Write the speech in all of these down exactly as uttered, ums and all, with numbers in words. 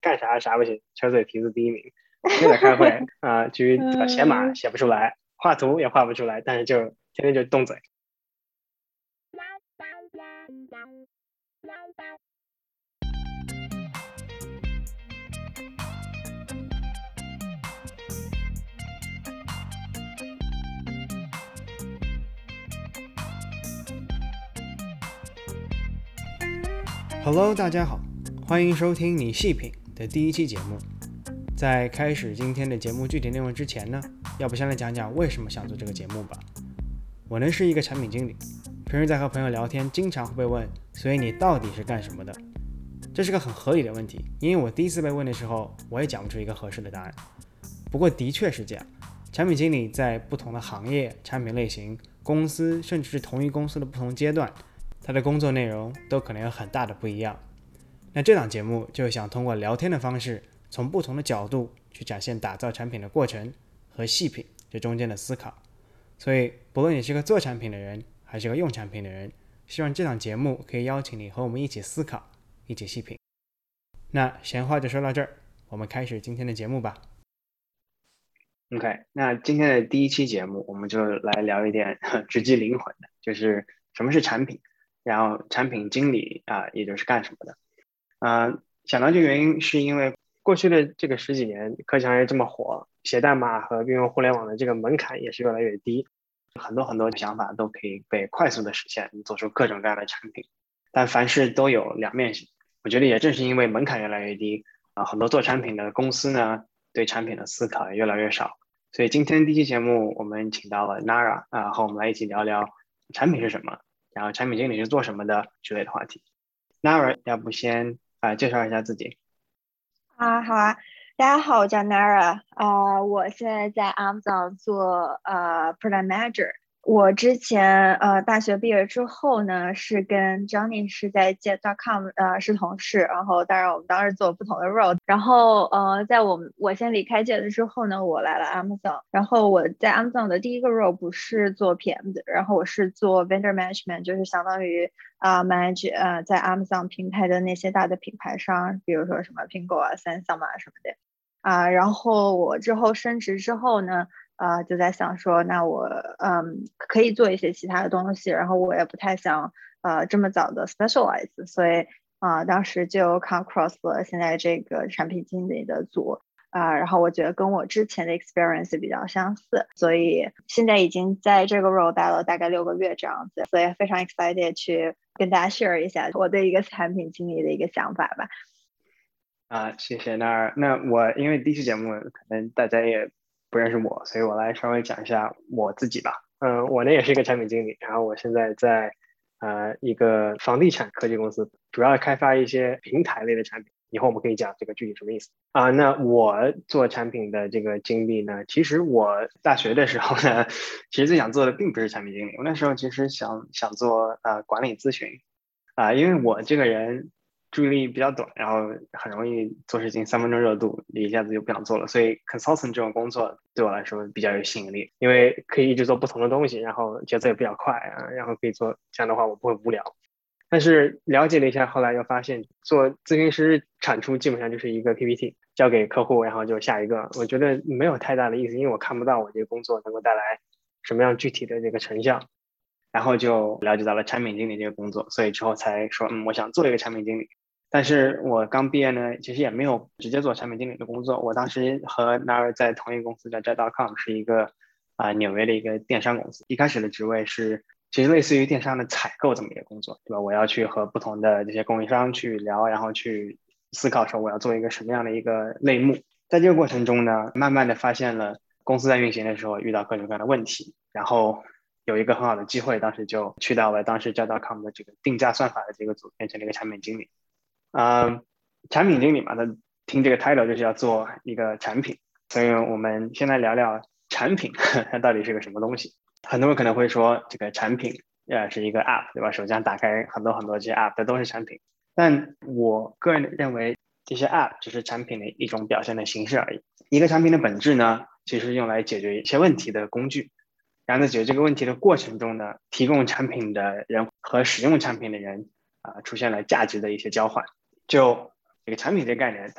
干啥啥不行，车嘴皮子第一名。我们就在开会啊、呃，至于怎么写码嗯写不出来，画图也画不出来，但是就天天就动嘴。Hello， 大家好，欢迎收听你细品的第一期节目。在开始今天的节目具体内容之前呢，要不先来讲讲为什么想做这个节目吧。我呢是一个产品经理，平时在和朋友聊天，经常会被问，所以你到底是干什么的？这是个很合理的问题，因为我第一次被问的时候，我也讲不出一个合适的答案。不过的确是这样，产品经理在不同的行业、产品类型、公司，甚至是同一公司的不同阶段，他的工作内容都可能有很大的不一样。那这档节目就想通过聊天的方式，从不同的角度去展现打造产品的过程和细品这中间的思考。所以不论你是个做产品的人还是个用产品的人，希望这档节目可以邀请你和我们一起思考，一起细品。那闲话就说到这儿，我们开始今天的节目吧。OK， 那今天的第一期节目我们就来聊一点直击灵魂的，就是什么是产品，然后产品经理啊、呃，也就是干什么的。呃，想到这个原因是因为过去的这个十几年，科技行业这么火，写代码和运用互联网的这个门槛也是越来越低，很多很多想法都可以被快速的实现，做出各种各样的产品。但凡事都有两面性，我觉得也正是因为门槛越来越低啊、呃，很多做产品的公司呢，对产品的思考也越来越少。所以今天第一期节目我们请到了 Nara 啊、呃，和我们来一起聊聊产品是什么，然后产品经理是做什么的之类的话题。Nara， 要不先啊、呃、介绍一下自己。 啊，好啊，大家好，我叫 Nara，啊、我现在在 Amazon 做呃 Product Manager。我之前呃大学毕业之后呢，是跟 Johnny 是在 Jet 点 com 呃是同事，然后当然我们当时做不同的 role，然后呃在我们我先离开 Jet 之后呢，我来了 Amazon，然后我在 Amazon 的第一个 role 不是做 P M 的，然后我是做 Vendor Management，就是相当于啊、呃、manage 呃在 Amazon 平台的那些大的品牌商，比如说什么苹果啊、三星啊什么的啊、呃，然后我之后升职之后呢。呃，就在想说，那我嗯可以做一些其他的东西，然后我也不太想呃这么早的 specialize，所以啊、呃、当时就 come across 了现在这个产品经理的组啊、呃，然后我觉得跟我之前的 experience 比较相似，所以现在已经在这个 role 待了大概六个月这样子，所以非常 excited 去跟大家 share 一下我对一个产品经理的一个想法吧。 啊，谢谢。那那我因为第一期节目可能大家也不认识我，所以我来稍微讲一下我自己吧。嗯、呃，我呢也是一个产品经理，然后我现在在呃一个房地产科技公司，主要开发一些平台类的产品。以后我们可以讲这个具体什么意思啊、呃。那我做产品的这个经历呢，其实我大学的时候呢，其实最想做的并不是产品经理，我那时候其实想想做呃管理咨询啊、呃，因为我这个人注意力比较短，然后很容易做事情三分钟热度，一下子就不想做了。所以 consultant 这种工作对我来说比较有吸引力，因为可以一直做不同的东西，然后节奏也比较快啊，然后可以做这样的话我不会无聊。但是了解了一下，后来又发现做咨询师产出基本上就是一个 P P T 交给客户，然后就下一个，我觉得没有太大的意思，因为我看不到我这个工作能够带来什么样具体的这个成效。然后就了解到了产品经理这个工作，所以之后才说，嗯，我想做一个产品经理。但是我刚毕业呢，其实也没有直接做产品经理的工作。我当时和 Nara 在同一个公司，叫 Jet 点 com， 是一个啊、呃、纽约的一个电商公司。一开始的职位是其实类似于电商的采购这么一个工作，对吧？我要去和不同的这些供应商去聊，然后去思考说我要做一个什么样的一个类目。在这个过程中呢，慢慢的发现了公司在运行的时候遇到各种各样的问题，然后有一个很好的机会，当时就去到了当时 Jet 点 com 的这个定价算法的这个组，变成了一个产品经理。呃，产品经理嘛，他听这个 title 就是要做一个产品，所以我们先来聊聊产品它到底是个什么东西。很多人可能会说，这个产品呃是一个 app， 对吧？手机上打开很多很多这些 app， 这都是产品。但我个人认为，这些 app 只是产品的一种表现的形式而已。一个产品的本质呢，其实是用来解决一些问题的工具。然后在解决这个问题的过程中呢，提供产品的人和使用产品的人啊、呃，出现了价值的一些交换。就这个产品这个概念，它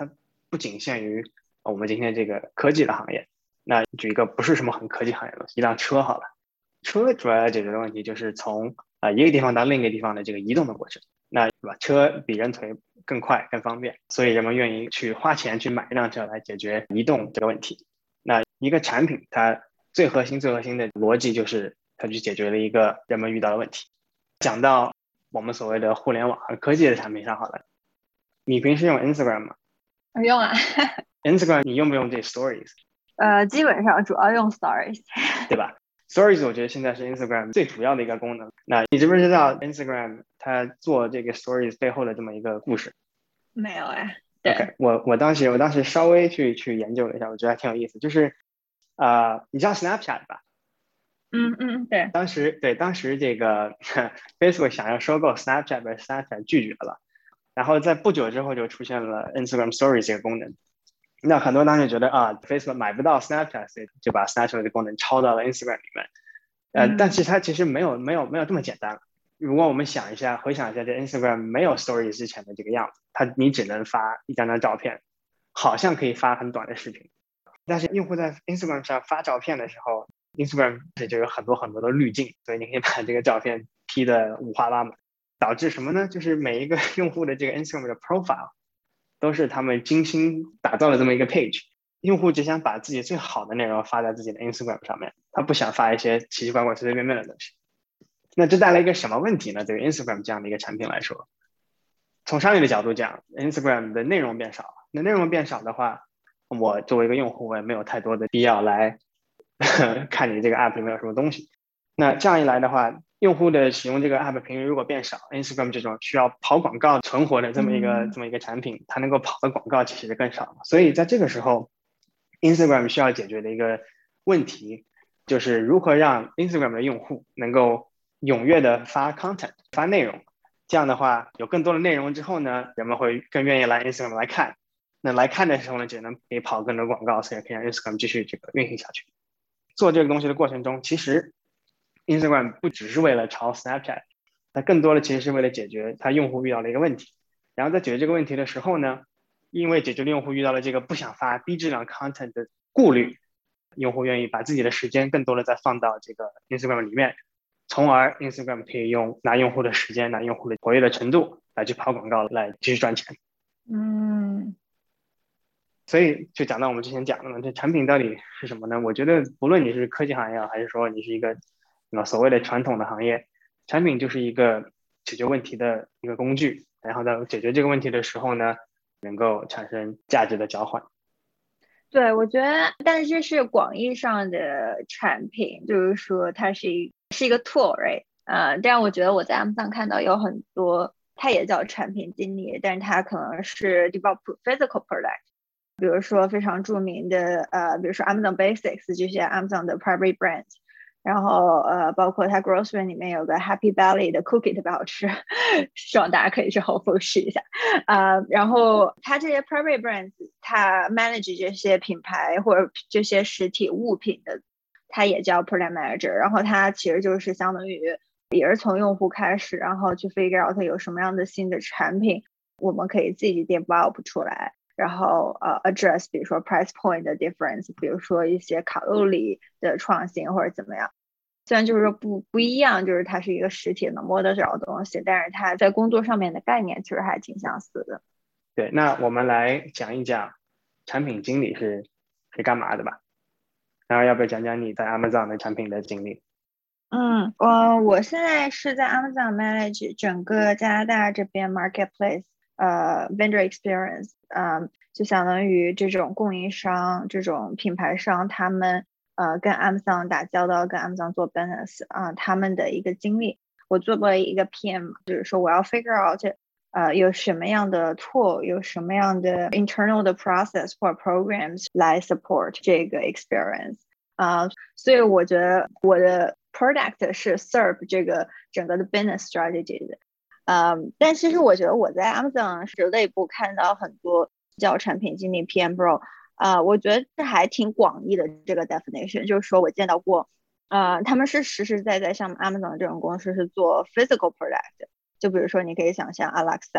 不仅限于我们今天这个科技的行业。那举一个不是什么很科技行业的，一辆车好了，车主要要解决的问题就是从啊、呃、一个地方到另一个地方的这个移动的过程。那对吧？车比人腿更快更方便，所以人们愿意去花钱去买一辆车来解决移动这个问题。那一个产品它最核心最核心的逻辑就是它去解决了一个人们遇到的问题。讲到我们所谓的互联网和科技的产品上好了，你平时用 Instagram 吗？ 我用啊。 Instagram 你用不用这 Stories？ 呃，基本上主要用 Stories， 对吧？Stories 我觉得现在是 Instagram 最主要的一个功能。那你知不知道 Instagram 它做这个 Stories 背后的这么一个故事？ 没有哎。对。 OK，我我当时我当时稍微去去研究了一下，我觉得还挺有意思。就是啊、呃，你知道 Snapchat 吧？ 嗯嗯，对。 当时对当时这个Facebook 想要收购 Snapchat， 被 Snapchat 拒绝了。然后在不久之后就出现了 Instagram Stories 这个功能。那很多人当时觉得啊 ，Facebook 买不到 Snapchat， 所以就把 Snapchat 的功能抄到了 Instagram 里面。呃， 嗯但其实它其实没有没有没有这么简单。如果我们想一下，回想一下，这 Instagram 没有 Stories 之前的这个样子，它你只能发一张张照片，好像可以发很短的视频。但是用户在 Instagram 上发照片的时候，Instagram 就有很多很多的滤镜，所以你可以把这个照片 P 的五花八门，导致什么呢？就是每一个用户的这个 Instagram 的 profile 都是他们精心打造的这么一个 page。用户只想把自己最好的内容发在自己的 Instagram 上面，他不想发一些奇奇怪怪、随随便便的东西。那这带来一个什么问题呢？对于 Instagram 这样的一个产品来说，从商业的角度讲 ，Instagram 的内容变少了。那内容变少的话，我作为一个用户，我也没有太多的必要来看你这个 app 里面有什么东西。那这样一来的话，用户的使用这个 app 频率如果变少 ，Instagram 这种需要跑广告存活的这么一个、 嗯这么一个产品，它能够跑的广告其实就更少了。所以在这个时候 ，Instagram 需要解决的一个问题，就是如何让 Instagram 的用户能够踊跃的发 content 发内容。这样的话，有更多的内容之后呢，人们会更愿意来 Instagram 来看。那来看的时候呢，就能可以跑更多广告，所以可以让 Instagram 继续这个运行下去。做这个东西的过程中，其实 Instagram 不只是为了抄 Snapchat， 它更多的其实是为了解决它用户遇到的一个问题。然后在解决这个问题的时候呢，因为解决了用户遇到了这个不想发低质量 content 的顾虑，用户愿意把自己的时间更多的再放到这个 Instagram 里面，从而 Instagram 可以用拿用户的时间、拿用户的活跃的程度来去跑广告，来继续赚钱。 嗯所以就讲到我们之前讲的嘛，这产品到底是什么呢？我觉得不论你是科技行业，还是说你是一个所谓的传统的行业，产品就是一个解决问题的一个工具，然后在解决这个问题的时候呢，能够产生价值的交换。 对，我觉得，但是这是广义上的产品，就是说它是一是一个 tool，right？ 呃，但我觉得我在 Amazon 看到有很多，它也叫产品经理，但是它可能是 develop physical product。比如说非常著名的呃，比如说 Amazon Basics 这些 Amazon 的 private brands，然后呃，包括它 grocery 里面有个 Happy Valley 的 cookie 特别好吃，希望大家可以去 Whole Foods 试一下。呃，然后它这些 private brands，它 manage 这些品牌或者这些实体物品的，它也叫 product manager。然后它其实就是相当于也是从用户开始，然后去 figure out 有什么样的新的产品，我们可以自己 develop 出来。然后呃 address 比如说 price point 的 difference， 比如说一些卡路里的创新或者怎么样。虽然就是说不不一样，就是它是一个实体能摸得着的东西，但是它在工作上面的概念其实还挺相似的。 对，那我们来讲一讲产品经理是是干嘛的吧。然后要不要讲讲你在 Amazon 的产品的经历？ 嗯，我我现在是在 Amazon manage 整个加拿大这边 marketplace，呃 vendor experience， 嗯，就相当于这种供应商、这种品牌商，他们呃跟 Amazon 打交道，跟 Amazon 做 business 啊，他们的一个经历。我作为一个 P M， 就是说我要 figure out 呃有什么样的 tool， 有什么样的 internal 的 process 或 programs 来 support 这个 experience。啊，所以我觉得我的 product 是 serve 这个整个的 business strategy 的。嗯，但其实我觉得我在 Amazon 是内部看到很多叫产品经理 P M role， 啊，我觉得这还挺广义的这个 definition， 就是说我见到过，呃，他们是实实在在像 Amazon 这种公司是做 physical product，就比如说你可以想象 Alexa，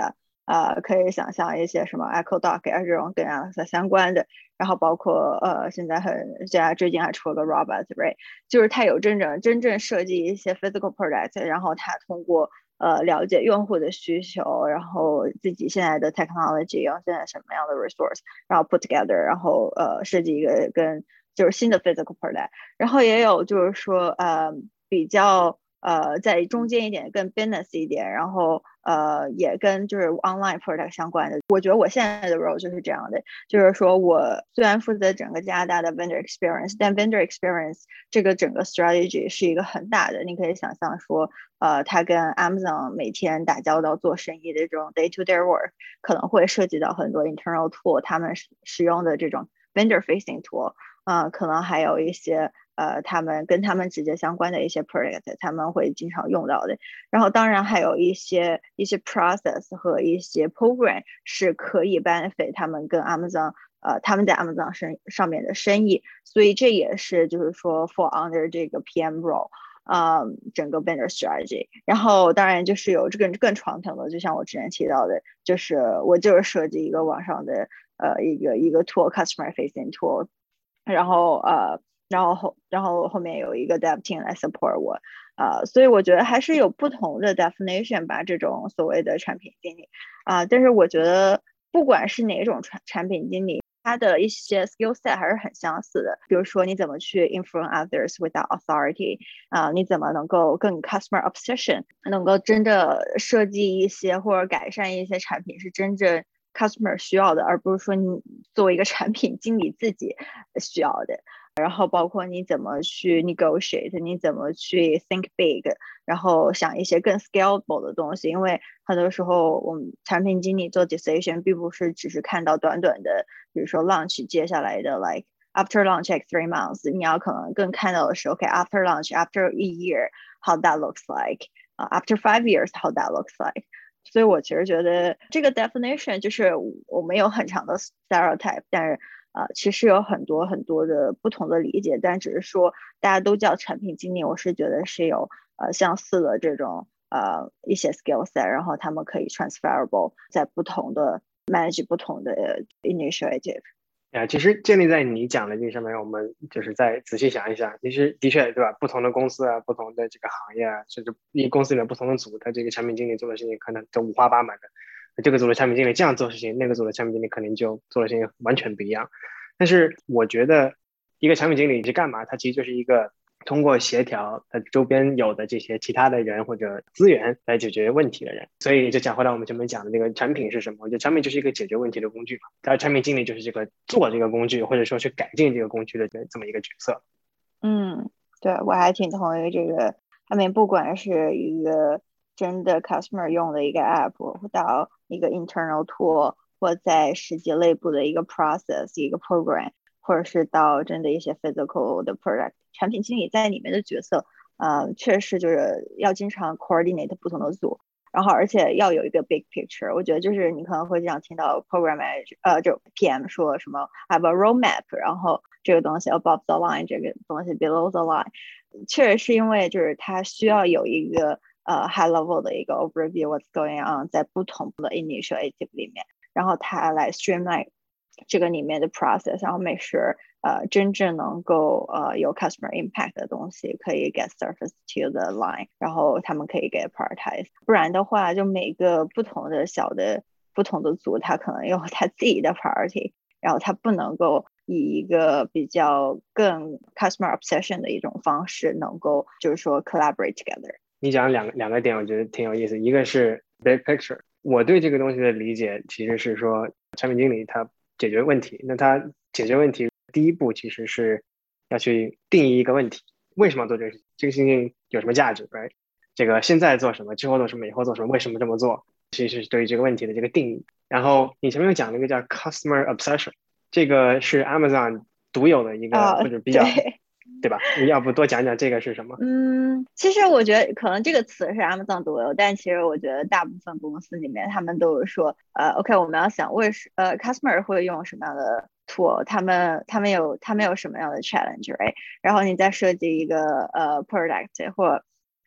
呃，可以想象一些什么 Echo Doc 啊这种跟 Alexa 相关的，然后包括呃现在很现在最近还出了个 Robot Ray，就是它有真正真正设计一些 physical product，然后它通过呃了解用户的需求，然后自己现在的 technology，用现在什么样的 resource，然后 put together，然后呃设计一个跟就是新的 physical product，然后也有就是说呃比较。呃，在中间一点，更 business 一点，然后呃，也跟就是 online product 相关的。我觉得我现在的 role 就是这样的，就是说我虽然负责整个加拿大的 vendor experience，但 vendor experience 这个整个 strategy 是一个很大的。你可以想象说，呃，他跟 Amazon 每天打交道做生意的这种 day to day work，可能会涉及到很多 internal tool，他们使用的这种 vendor facing tool，呃，可能还有一些。呃，他们跟他们直接相关的一些 project，他们会经常用到的。然后当然还有一些一些 process 和一些 program 是可以 benefit 他们跟 Amazon， 呃，他们在 Amazon 上上面的生意。所以这也是就是说 fall under 这个 P M role。呃，整个 vendor strategy，然后当然就是有这个更传统的，就像我之前提到的，就是我就是设计一个网上的呃一个一个 tool，customer facing tool，然后呃。然后后然后后面有一个 dev team 来 support 我，呃，所以我觉得还是有不同的 definition 吧，这种所谓的产品经理啊、呃，但是我觉得不管是哪种产产品经理，他的一些 skill set 还是很相似的，比如说你怎么去 influence others without authority，啊、呃，你怎么能够更 customer obsession，能够真的设计一些或者改善一些产品是真正 customer 需要的，而不是说你作为一个产品经理自己需要的。然后包括你怎么去 negotiate，你怎么去 think big，然后想一些更 scalable 的东西。因为很多时候我们产品经理做 decision 并不是只是看到短短的，比如说 launch 接下来的 like after launch like three months，你要可能更看到的是 OK after launch after a year how that looks like，uh, after five years how that looks like。所以我其实觉得这个 definition 就是我没有很长的 stereotype，但是呃，其实有很多很多的不同的理解，但只是说大家都叫产品经理，我是觉得是有呃相似的这种呃一些 skill set，然后他们可以 transferable 在不同的 manage 不同的 initiative。 啊，其实建立在你讲的这个上面，我们就是再仔细想一想，其实的确对吧？不同的公司啊，不同的这个行业啊，甚至一个公司里面不同的组，它这个产品经理做的事情可能就五花八门的。这个组的产品经理这样做事情，那个组的产品经理可能就做的事情完全不一样。但是我觉得，一个产品经理是干嘛？他其实就是一个通过协调他周边有的这些其他的人或者资源来解决问题的人。所以就讲回来我们前面讲的这个产品是什么？我觉得产品就是一个解决问题的工具嘛，而产品经理就是这个做这个工具或者说去改进这个工具的这么一个角色。 嗯，对，我还挺同意这个。他们不管是一个真的 customer 用的一个 app，到一个 internal tool，或在实际内部的一个 process 一个 program，或者是到真的一些 physical 的 product，产品经理在里面的角色，呃，确实就是要经常 coordinate 不同的组，然后而且要有一个 big picture。我觉得就是你可能会经常听到 program manager，呃，就 P M 说什么 have a roadmap，然后这个东西 above the line，这个东西 below the line，确实是因为就是它需要有一个呃 high level 的一个 overview what's going on 在不同的 initiative 里面，然后它来 streamline 这个里面的 process，然后 make sure 呃真正能够呃有 customer impact 的东西可以 get surface to the line，然后他们可以 get prioritize，不然的话就每个不同的小的不同的组，它可能有它自己的 priority，然后它不能够以一个比较更 customer obsession 的一种方式，能够就是说 collaborate together。 你讲两两个点，我觉得挺有意思。一个是 big picture，我对这个东西的理解其实是说，产品经理他解决问题，那他解决问题第一步其实是要去定义一个问题，为什么要做这个事情？这个事情有什么价值 ，right？这个现在做什么，之后做什么，以后做什么，为什么这么做？其实是对于这个问题的这个定义。然后你前面有讲那个叫 customer obsession，这个是 Amazon 独有的一个啊、 或者比较， 对。 对吧？你要不多讲讲这个是什么？ 嗯，其实我觉得可能这个词是 Amazon 独有，但其实我觉得大部分公司里面他们都是说，呃，OK，我们要想为什呃 customer 会用什么样的 tool，他们他们有他们有什么样的 challenge，right？然后你再设计一个呃 product 或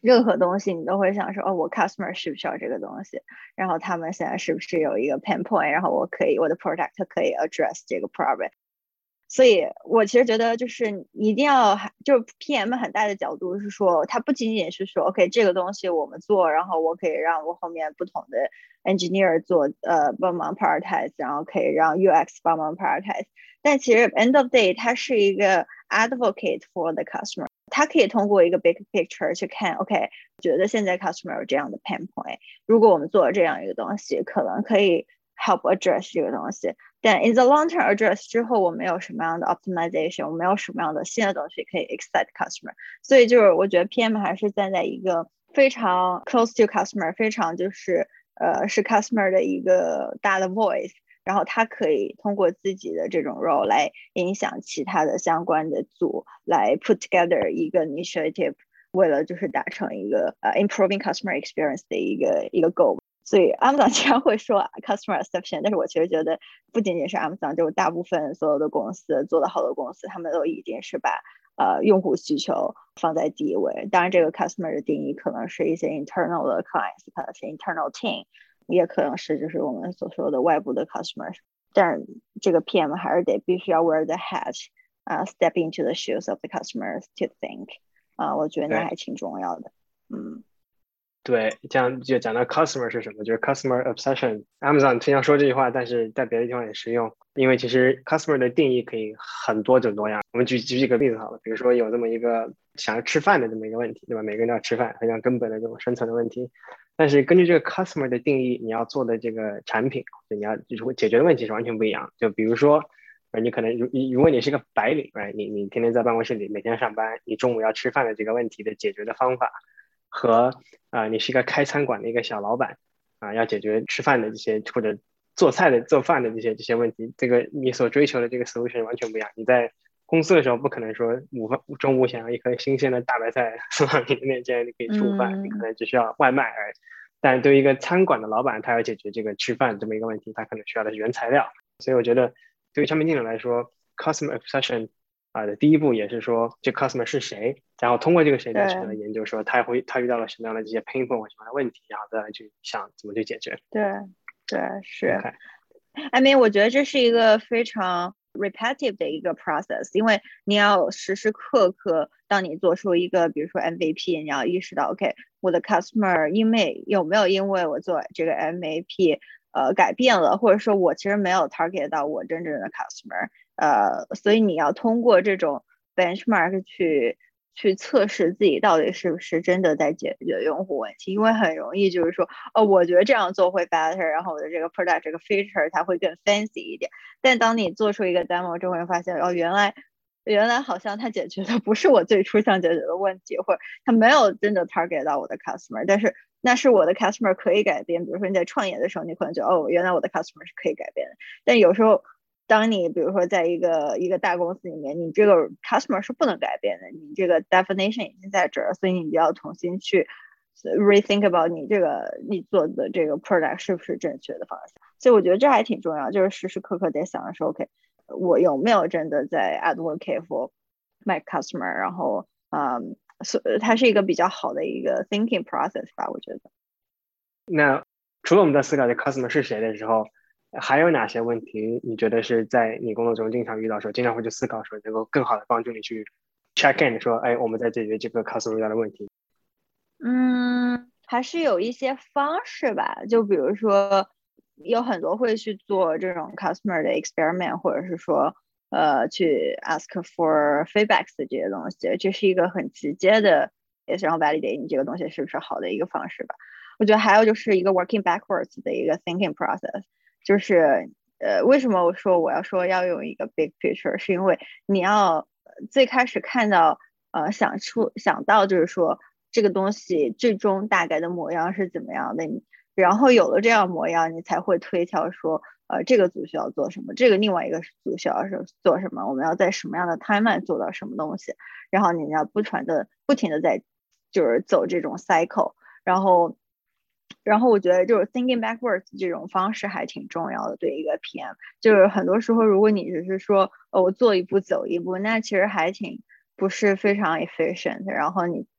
任何东西你都会想说，哦，我 customer 需不需要这个东西，然后他们现在是不是有一个 pain point，然后我可以我的 product 可以 address 这个 problem。所以我其实觉得就是一定要就是 P M 很大的角度是说，它不仅仅是说 OK 这个东西我们做，然后我可以让我后面不同的 engineer 做呃帮忙 prioritize，然后可以让 U X 帮忙 prioritize， 但其实 end of day 它是一个 advocate for the customer， 它可以通过一个 big picture 去看 OK 觉得现在 customer 有这样的 pain point， 如果我们做了这样一个东西，可能可以 help address 这个东西。但 in the long term address 之后，我们有什么样的 optimization， 我们有什么样的新的东西可以 excite customer， 所以就是我觉得 P M 还是站在一个非常 close to customer， 非常就是呃是 customer 的一个大的 voice， 然后他可以通过自己的这种 role 来影响其他的相关的组，来 put together 一个 initiative， 为了就是达成一个呃 improving customer experience 的一个一个 goal。所以 Amazon 经常会说 customer exception， 但是我其实觉得不仅仅是 Amazon， 就是大部分所有的公司做得好的公司，他们都一定是把呃用户需求放在第一位。当然，这个 customer 的定义可能是一些 internal 的 clients， 可能是 internal team， 也可能是就是我们所说的外部的 customers。但是这个 P M 还是得必须要 wear the hat， uh, step into the shoes of the customers to think， 啊、呃，我觉得那还挺重要的。嗯。 对，这样就讲到 customer 是什么，就是 customer obsession。Amazon 经常说这句话，但是在别的地方也适用，因为其实 customer 的定义可以很多种多样。我们举举几个例子好了，比如说有这么一个想要吃饭的这么一个问题，对吧？每个人都要吃饭，非常根本的这种生存的问题。但是根据这个 customer 的定义，你要做的这个产品，你要就是解决的问题是完全不一样。就比如说，呃，你可能如如果你是个白领，right？你你天天在办公室里每天上班，你中午要吃饭的这个问题的解决的方法。和啊、呃，你是一个开餐馆的一个小老板啊、呃，要解决吃饭的这些或者做菜的做饭的这些这些问题，这个你所追求的这个 solution 完全不一样。你在公司的时候不可能说午饭中午想要一颗新鲜的大白菜送到你的面前，你可以吃午饭，你可嗯。 能只需要外卖而已。但对于一个餐馆的老板，他要解决这个吃饭这么一个问题，他可能需要的是原材料。所以我觉得，对于产品经理来说，customer obsession 啊的第一步也是说这 customer 是谁，然后通过这个谁再去来对研究说他会他遇到了什么样的这些 pain point 什么样的问题，然后再来去想怎么去解决。 对对是。 OK， I mean，我觉得这是一个非常 repetitive 的一个 process，因为你要时时刻刻，当你做出一个，比如说 M V P，你要意识到，OK，我的 customer 因为有没有因为我做这个 M V P，呃，改变了，或者说我其实没有 target 到我真正的 customer，呃，所以你要通过这种 benchmark 去去测试自己到底是不是真的在解决用户问题，因为很容易就是说，哦，我觉得这样做会 better，然后我的这个 product 这个 feature 它会更 fancy 一点。但当你做出一个 demo 之后，会发现，哦，原来原来好像它解决的不是我最初想解决的问题，或者它没有真的 target 到我的 customer，但是那是我的 customer 可以改变。比如说你在创业的时候，你可能觉得，哦，原来我的 customer 是可以改变的，但有时候。当你比如说在一个一个大公司里面，你这个 customer 是不能改变的，你这个 definition 已经在这儿，所以你就要重新去 rethink about 你这个你做的这个 product 是不是正确的方向。所以我觉得这还挺重要，就是时时刻刻在想的时候 OK，我有没有真的在 advocate for my customer，然后嗯，所它是一个比较好的一个 thinking process 吧，我觉得。 那除了我们在思考这 customer 是谁的时候，还有哪些问题你觉得是在你工作中经常遇到时候，经常会去思考说能够更好的帮助你去 check in 说，哎，我们在解决这个 customer 遇到的问题。 嗯，还是有一些方式吧，就比如说，有很多会去做这种 customer 的 experiment，或者是说，呃，去 ask for feedbacks 的这些东西，这是一个很直接的，也是让 validate 你这个东西是不是好的一个方式吧。我觉得还有就是一个 working backwards 的一个 thinking process，就是呃，为什么我说我要说要用一个 big picture，是因为你要最开始看到呃想出想到就是说这个东西最终大概的模样是怎么样的，你然后有了这样模样，你才会推敲说呃这个组需要做什么，这个另外一个组需要是做什么，我们要在什么样的 timeline 做到什么东西，然后你要不传的不停的在就是走这种 cycle，然后。然后我觉得就是 thinking backwards 这种方式还挺重要的，对一个 P M，就是很多时候如果你只是说，呃，我做一步走一步，那其实还挺不是非常 efficient。然后你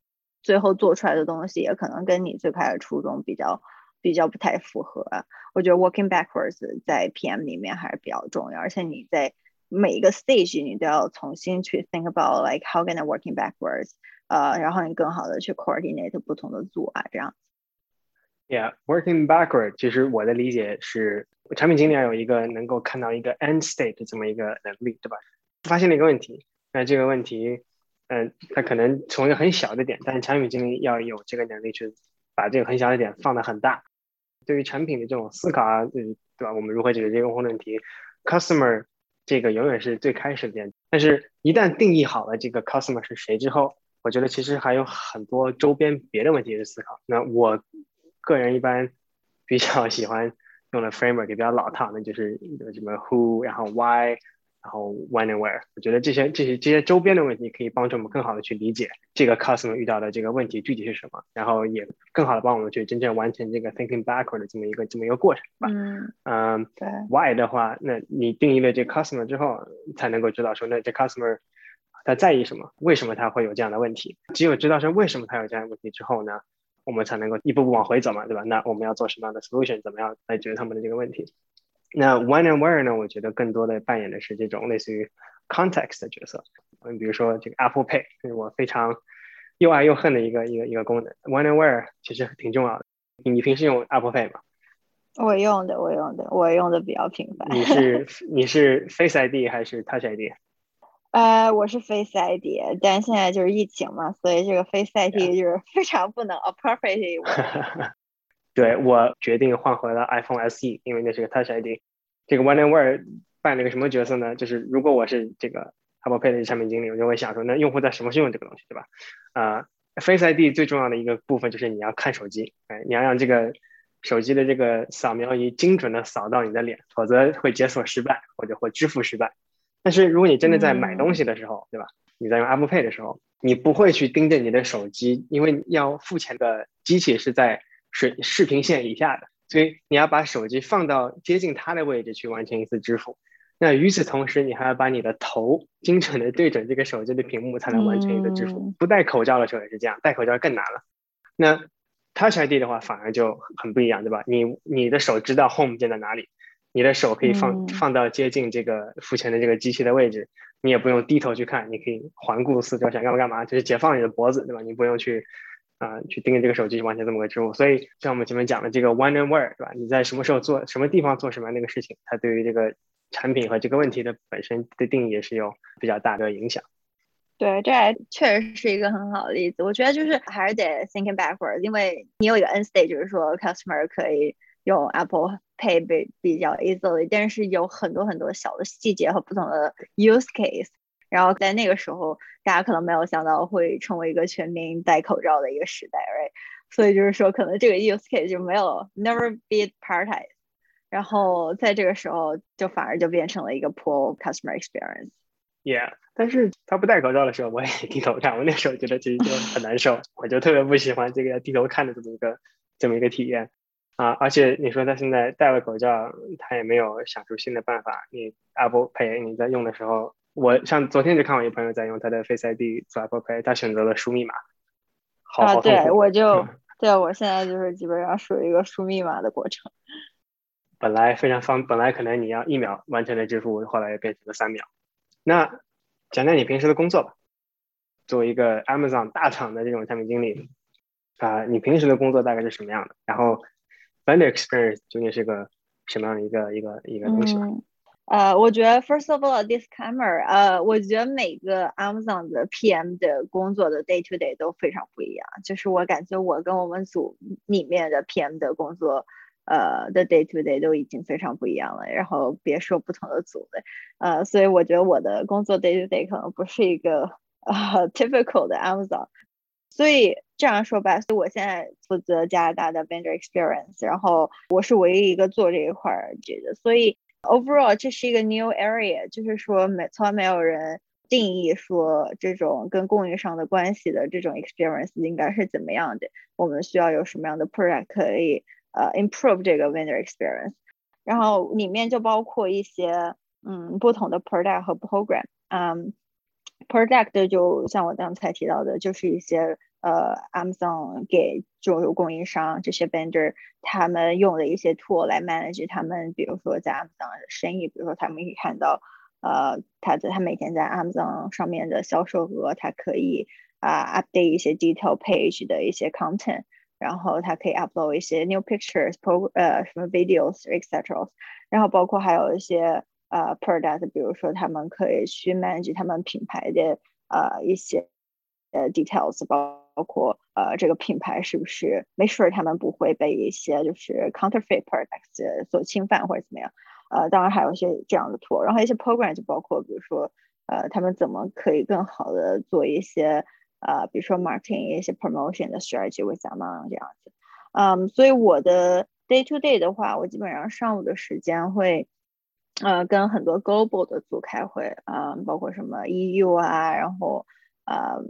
最后做出来的东西也可能跟你最开始初衷比较比较不太符合。我觉得 working backwards 在 P M 里面还是比较重要，而且你在每一个 stage 你都要重新去 think about like how can I working backwards， 呃，然后你更好的去 coordinate 不同的组啊，这样。 Yeah, working backward，其实我的理解是，产品经理要有一个能够看到一个 end state 的这么一个能力，对吧？发现了一个问题，那这个问题，嗯、呃，它可能从一个很小的点，但是产品经理要有这个能力去把这个很小的点放得很大。对于产品的这种思考啊，嗯，对吧？我们如何解决这个用户问题？Customer 这个永远是最开始的点，但是一旦定义好了这个 customer 是谁之后，我觉得其实还有很多周边别的问题去思考。那我个人一般比较喜欢用的 framework 也比较老套，那就是什么 who，然后 why，然后 when and where。我觉得这些这些这些周边的问题可以帮助我们更好的去理解这个 customer 遇到的这个问题具体是什么，然后也更好的帮我们去真正完成这个 thinking backward 的这么一个这么一个过程吧。 嗯， 嗯， 对。 why 的话，那你定义了这 customer 之后，才能够知道说，那这 customer 他在意什么，为什么他会有这样的问题？只有知道说为什么他有这样的问题之后呢，我们才能够一步步往回走嘛，对吧？那我们要做什么样的 solution，怎么样来解决他们的这个问题？那 when and where 呢？我觉得更多的扮演的是这种类似于 context 的角色。嗯，比如说这个 Apple Pay 是我非常又爱又恨的一个一个一个功能。when and where 其实挺重要的。你平时用 Apple Pay 吗？ 我用的，我用的，我用的比较频繁。 你是你是 Face I D 还是 Touch I D？ 呃，我是 Face I D，但现在就是疫情嘛，所以这个 Face I D 就是非常不能 appropriately work。 对，我决定换回了 iPhone S E，因为那是个 Touch I D。这个 One and Where 扮了一个什么角色呢？就是如果我是这个 Apple Pay 的产品经理，我就会想说，那用户在什么时候用这个东西，对吧？啊、呃、，Face I D 最重要的一个部分就是你要看手机，哎，你要让这个手机的这个扫描仪精准的扫到你的脸，否则会解锁失败或者会支付失败。但是如果你真的在买东嗯西的时候，对吧？你在用 Apple Pay 的时候，你不会去盯着你的手机，因为要付钱的机器是在水视频线以下的，所以你要把手机放到接近它的位置去完成一次支付。那与此同时，你还要把你的头精准的对准这个手机的屏幕，才能完成一个支付。 嗯不戴口罩的时候也是这样，戴口罩更难了。那 Touch I D 的话反而就很不一样，对吧？你你的手知道 Home 键在哪里，你的手可以放嗯放到接近这个付钱的这个机器的位置，你也不用低头去看，你可以环顾四周，想干嘛干嘛，就是解放你的脖子，对吧？你不用去啊、呃、去盯着这个手机完成这么个支付。所以像我们前面讲的这个 when and where， 对吧？你在什么时候做什么地方做什么样的一个事情，它对于这个产品和这个问题的本身的定义也是有比较大的影响。 对，这还确实是一个很好的例子。我觉得就是还是得 thinking backwards，因为你有一个 end state，就是说 customer 可以用 Apple Pay 比比较 easily，但是有很多很多小的细节和不同的 use case。然后在那个时候，大家可能没有想到会成为一个全民戴口罩的一个时代，right？所以就是说，可能这个 use case 就没有 never be prioritized。然后在这个时候，就反而就变成了一个 poor customer experience。 Yeah，但是他不戴口罩的时候，我也低头看，我那时候觉得其实就很难受，我就特别不喜欢这个要低头看的这么一个这么一个体验啊。而且你说他现在戴了口罩，他也没有想出新的办法。你 Apple Pay 你在用的时候，我像昨天就看我一朋友在用他的 Face I D 做 Apple Pay，他选择了输密码，好啊，对， 好痛苦。 我就对我现在就是基本上属于一个输密码的过程。 本来非常方，本来可能你要一秒完成的支付，后来也变成了三秒。那讲讲你平时的工作吧。作为一个 Amazon 大厂的这种产品经理啊、呃，你平时的工作大概是什么样的？然后 vendor experience 究竟是个什么样的一个一个一个东西吧？ 嗯，呃，我觉得 first of all disclaimer，呃，我觉得每个 Amazon 的 P M 的工作的 day to day 都非常不一样。就是我感觉我跟我们组里面的 P M 的工作，呃的 day to day 都已经非常不一样了。然后别说不同的组了，呃，所以我觉得我的工作 day to day 可能不是一个呃 typical 的 Amazon。所以这样说吧，所以我现在负责加拿大的 vendor experience，然后我是唯一一个做这一块儿这个，所以 overall 这是一个 new area，就是说没从来没有人定义说这种跟供应商的关系的这种 experience 应该是怎么样的，我们需要有什么样的 product 可以呃 improve 这个 vendor experience， 然后里面就包括一些嗯不同的 product 和 program，嗯。Product 就像我刚才提到的，就是一些呃 Amazon 给这种供应商这些 vendor 他们用的一些 tool 来 manage 他们，比如说在 Amazon 的生意，比如说他们可以看到呃他在他每天在 Amazon 上面的销售额，他可以啊、update 一些 detail page 的一些 content。然后它可以 upload 一些 new pictures、pro 呃什么 videos et cetera， 然后包括还有一些呃 product， 比如说他们可以去 manage 他们品牌的呃一些呃 details， 包括呃这个品牌是不是 make sure 他们不会被一些就是 counterfeit products 所侵犯或者怎么样。呃，当然还有一些这样的 tool， 然后一些 program 就包括比如说呃他们怎么可以更好的做一些。呃，比如说 marketing 一些 promotion 的 strategy with them 这样子，嗯，所以我的 day to day 的话，我基本上上午的时间会，呃，跟很多 global 的组开会，嗯，包括什么 E U 啊，然后呃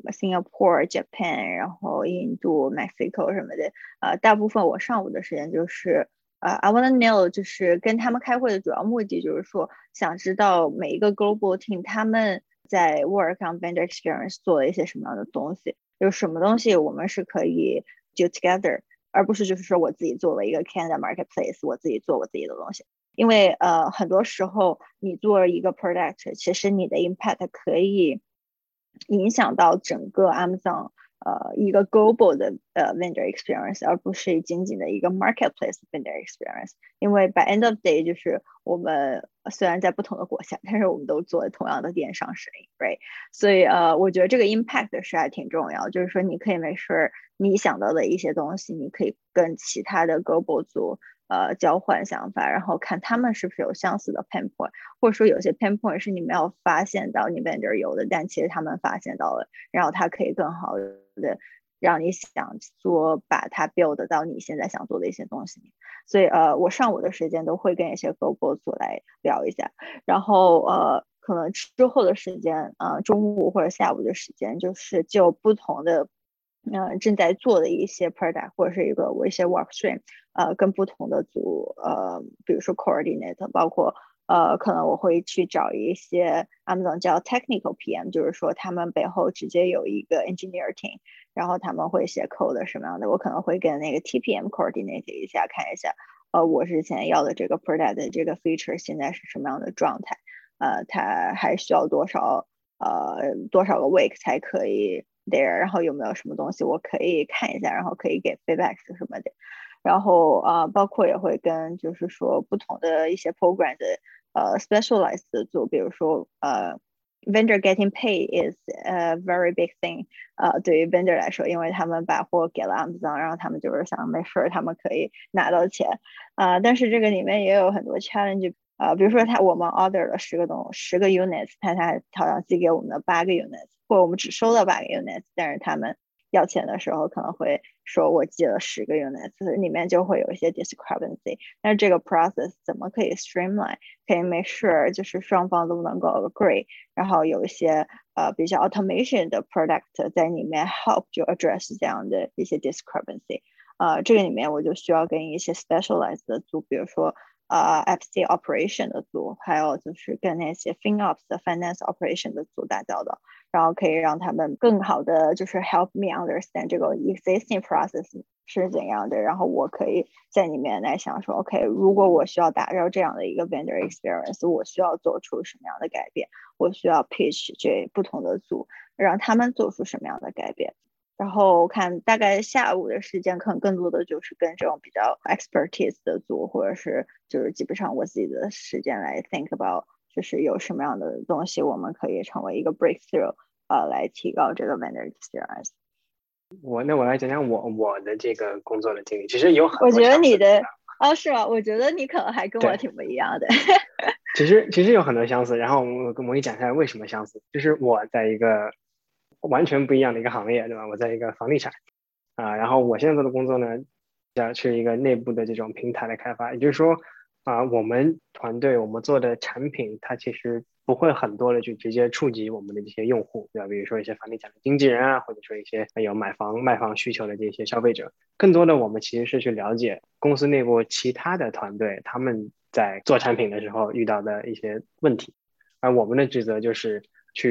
Singapore、Japan，然后印度、Mexico 什么的，呃，大部分我上午的时间就是。呃、uh, I wanna know 就是跟他们开会的主要目的就是说，想知道每一个 global team 他们在 work on vendor experience 做了一些什么样的东西，有什么东西我们是可以 do together，而不是就是说我自己做了一个 Canada marketplace， 我自己做我自己的东西。因为呃很多时候你做一个 product， 其实你的 impact 可以影响到整个 Amazon。呃，一个 global 的呃 vendor experience， 而不是仅仅的一个 marketplace vendor experience。因为 by end of day， 就是我们虽然在不同的国家，但是我们都做同样的电商生意 ，right？ 所以呃，我觉得这个 impact 是还挺重要，就是说你可以没事你想到的一些东西，你可以跟其他的 global 组呃交换想法，然后看他们是不是有相似的 pain point， 或者说有些 pain point 是你没有发现到你 vendor 有的，但其实他们发现到了，然后他可以更好的让你想做把它 build 到你现在想做的一些东西。所以呃，我上午的时间都会跟一些 global 组来聊一下，然后呃，可能之后的时间，呃，中午或者下午的时间，就是就不同的。嗯、呃，正在做的一些 product 或者是一个我一些 work stream，呃，跟不同的组，呃，比如说 coordinate， 包括呃，可能我会去找一些 Amazon 叫 technical P M， 就是说他们背后直接有一个 engineer team，然后他们会写 code 什么样的，我可能会跟那个 T P M coordinate 一下，看一下，呃，我之前要的这个 product 的这个 feature 现在是什么样的状态，呃，它还需要多少呃多少个 week 才可以 there，然后有没有什么东西我可以看一下，然后可以给 feedback 什么的。然后啊、呃，包括也会跟就是说不同的一些 program 的呃 specialized 的组，比如说呃 vendor getting pay is a very big thing，呃，对于 vendor 来说，因为他们把货给了 Amazon，然后他们就是想没事他们可以拿到钱，啊、呃，但是这个里面也有很多 challenge。呃，比如说他我们 order 了十个东十个 units，他他好像寄给我们的八个 units，或者我们只收到八个 units，但是他们要钱的时候可能会说我寄了十个 units，里面就会有一些 discrepancy。那这个 process 怎么可以 streamline，可以 make sure 就是双方都能够 agree，然后有一些呃比较 automation 的 product 在里面 help 就 address 这样的一些 discrepancy。呃，这个里面我就需要跟一些 specialized 的组，比如说呃 F C operation 的组，还有就是跟那些 FinOps 的 finance operation 的组打交道，然后可以让他们更好的就是 help me understand 这个 existing process 是怎样的，然后我可以在里面来想说 OK， 如果我需要打造这样的一个 vendor experience， 我需要做出什么样的改变，我需要 pitch 这不同的组，让他们做出什么样的改变。然后看大概下午的时间，可能更多的就是跟这种比较 expertise 的组，或者是就是基本上我自己的时间来 think about，就是有什么样的东西我们可以成为一个 breakthrough，呃，来提高这个 vendor experience。 我那我来讲讲我我的这个工作的经历，其实有很我觉得多相似的地方。 你的哦，是吗？我觉得你可能还跟我对， 挺不一样的。 其实其实有很多相似，然后我我给你讲一下为什么相似，就是我在一个完全不一样的一个行业，对吧？我在一个房地产啊、然后我现在做的工作呢，叫是一个内部的这种平台的开发，也就是说啊、我们团队我们做的产品，它其实不会很多的去直接触及我们的这些用户，对吧？比如说一些房地产的经纪人啊，或者说一些有买房卖房需求的这些消费者，更多的我们其实是去了解公司内部其他的团队他们在做产品的时候遇到的一些问题，而我们的职责就是去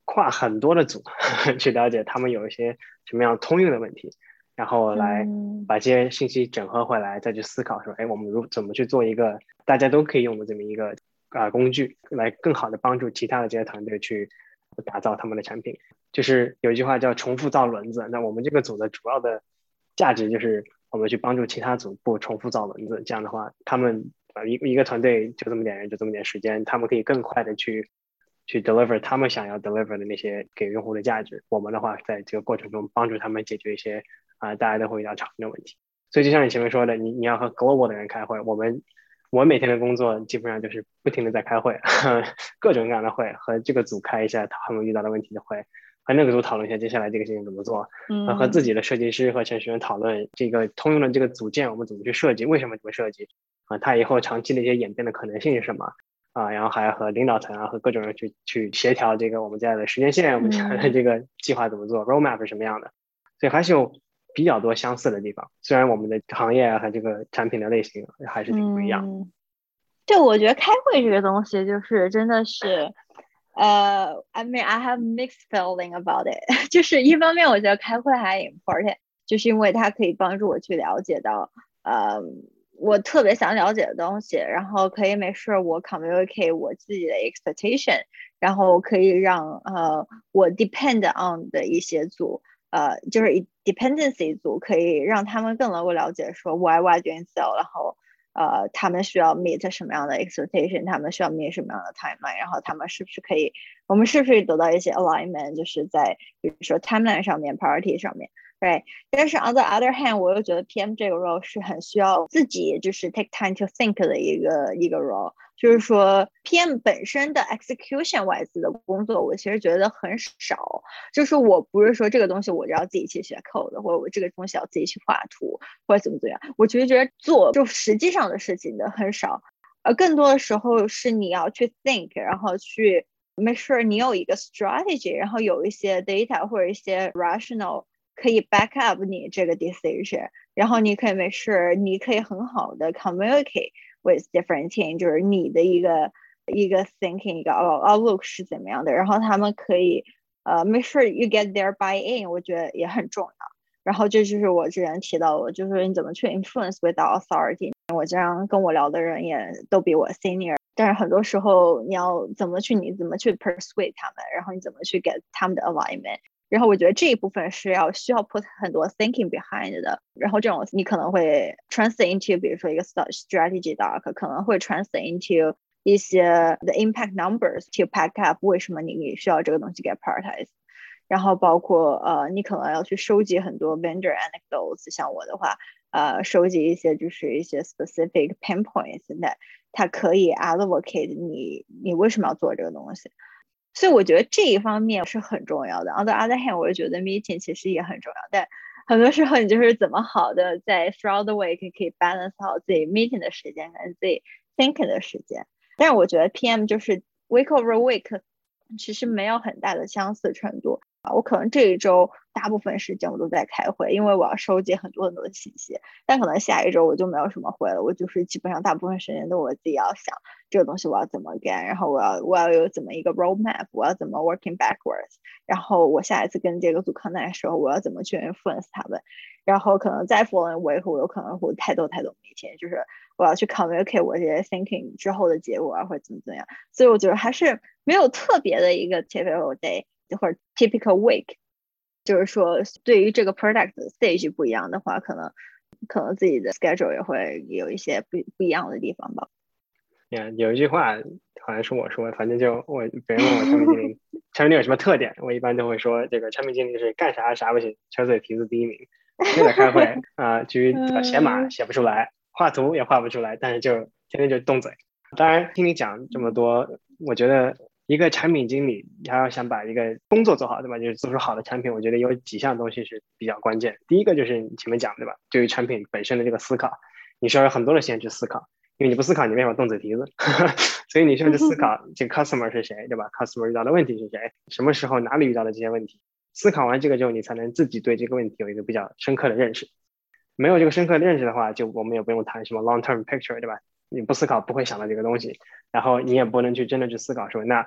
跨很多的组去了解他们有一些什么样通用的问题，然后来嗯把这些信息整合回来，再去思考说，哎，我们如怎么去做一个大家都可以用的这么一个啊、呃工具，来更好的帮助其他的这些团队去打造他们的产品。就是有一句话叫重复造轮子，那我们这个组的主要的价值就是我们去帮助其他组不重复造轮子，这样的话，他们啊一一个团队就这么点人，就这么点时间，他们可以更快的去去 deliver 他们想要 deliver 的那些给用户的价值。我们的话，在这个过程中帮助他们解决一些啊、呃大家都会遇到常见的问题。所以就像你前面说的，你你要和 global 的人开会，我们我每天的工作基本上就是不停的在开会，各种各样的会，和这个组开一下他们遇到的问题的会，和那个组讨论一下接下来这个事情怎么做，和和自嗯己的设计师和程序员讨论这个通用的这个组件我们怎么去设计，为什么这么设计啊，它以后长期的一些演变的可能性是什么啊，然后还要和领导层啊和各种人去去协调这个我们家的时间线，我们家的嗯。 这个计划怎么做，roadmap 是什么样的，所以还是有比较多相似的地方，虽然我们的行业啊和这个产品的类型还是挺不一样。 嗯，对，我觉得开会这个东西就是真的是，呃，I mean I have mixed feeling about it 就是一方面我觉得开会还 important，就是因为它可以帮助我去了解到，呃，我特别想了解的东西，然后可以没事我 communicate 我自己的 expectation，然后可以让呃我 depend on 的一些组。呃，就是 dependency 组可以让他们更能够了解说 why why doing so，然后呃，他们需要 meet 什么样的 expectation，他们需要 meet 什么样的 timeline，然后他们是不是可以，我们是不是得到一些 alignment，就是在比如说 timeline 上面 priority 上面，right？但是 on the other hand，我又觉得 P M 这个 role 是很需要自己就是 take time to think 的一个一个 role。就是说 P M 本身的 execution wise 的工作，我其实觉得很少。就是我不是说这个东西我就要自己去写 code，或者我这个东西要自己去画图，或者怎么怎么样。我其实觉得做就实际上的事情的很少，呃，更多的时候是你要去 think，然后去 make sure 你有一个 strategy，然后有一些 data 或者一些 rational 可以 back up 你这个 decision，然后你可以 make sure 你可以很好的 communicate with different team，就是你的一个一个 thinking 一个 outlook 是怎么样的，然后他们可以呃 make sure you get their buy in，我觉得也很重要。然后这就是我之前提到的，就是你怎么去 influence without authority。我这样跟我聊的人也都比我 senior，但是很多时候你要怎么去，你怎么去 persuade 他们，然后你怎么去 get 他们的 alignment。然后我觉得这一部分是要需要 put 很多 thinking behind 的，然后这种你可能会 translate into 比如说一个 strategy doc，可能会 translate into 一些 the impact numbers to pack up，为什么你需要这个东西 get prioritized。然后包括呃，你可能要去收集很多 vendor anecdotes，像我的话，呃，收集一些就是一些 specific pain points，那它可以 advocate 你你为什么要做这个东西。所以我觉得这一方面是很重要的。On the other hand，我就觉得 meeting 其实也很重要，但很多时候你就是怎么好的在 throughout the week 可以 balance 好自己 meeting 的时间跟自己 thinking 的时间。但是我觉得 P M 就是 week over week 其实没有很大的相似程度。我可能这一周大部分时间我都在开会，因为我要收集很多很多的信息。但可能下一周我就没有什么会了，我就是基本上大部分时间都我自己要想这个东西我要怎么干，然后我要我要有怎么一个 roadmap， 我要怎么 working backwards， 然后我下一次跟这个组 connect 的时候，我要怎么去 influence 他们。然后可能再 following week 我有可能会太多太多 meeting， 就是我要去 communicate 我这些 thinking 之后的结果啊，或者怎么怎么样。所以我觉得还是没有特别的一个 typical day。或者 typical week， 就是说对于这个 product stage 不一样的话，可能可能自己的 schedule 也会有一些不不一样的地方吧。 Yeah，有一句话好像是我说，反正就我别人问我产品经理，产品经理有什么特点，我一般都会说，这个产品经理是干啥啥不行，敲嘴皮子第一名，就在开会啊、呃，至于写码写不出来，画图也画不出来，但是就天天就动嘴。当然听你讲这么多，我觉得一个产品经理他要想把一个工作做好，对吧？就是做出好的产品，我觉得有几项东西是比较关键。第一个就是你前面讲对吧？对于产品本身的这个思考，你需要有很多的时间去思考。因为你不思考，你没法动嘴皮子，所以你需要去思考这个 customer 是谁，对吧 ？customer 遇到的问题是谁？什么时候哪里遇到的这些问题？思考完这个之后，你才能自己对这个问题有一个比较深刻的认识。没有这个深刻的认识的话，就我们也不用谈什么 long term picture，对吧？你不思考不会想到这个东西，然后你也不能去真的去思考说，那